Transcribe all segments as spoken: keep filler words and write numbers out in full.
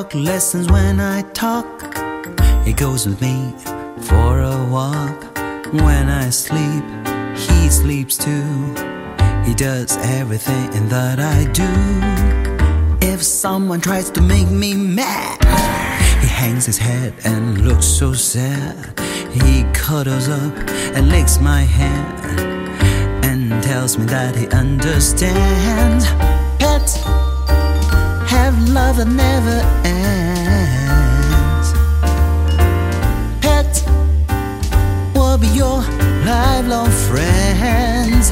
dog listens when I talk. He goes with me for a walk. When I sleep, he sleeps too. He does everything that I do. If someone tries to make me mad, he hangs his head and looks so sad. He cuddles up and licks my hand and tells me that he understands. Pets have love that never ends. Pets will be your lifelong friends.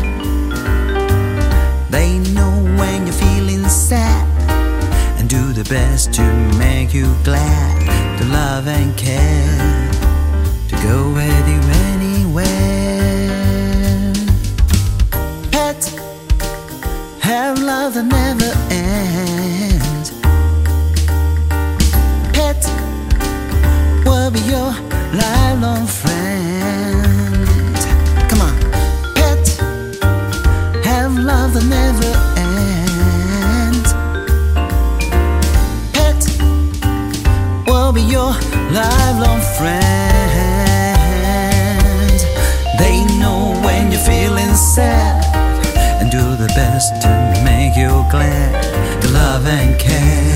They know when you're feeling sad and do the best to make you glad, to love and care, to go with you anywhere. Pets have love that never ends. Pets will be your lifelong friends. Come on. Pets have love that never ends. Pets will be your lifelong friends. They know when you're feeling sad and do the best to make you glad, to love and care.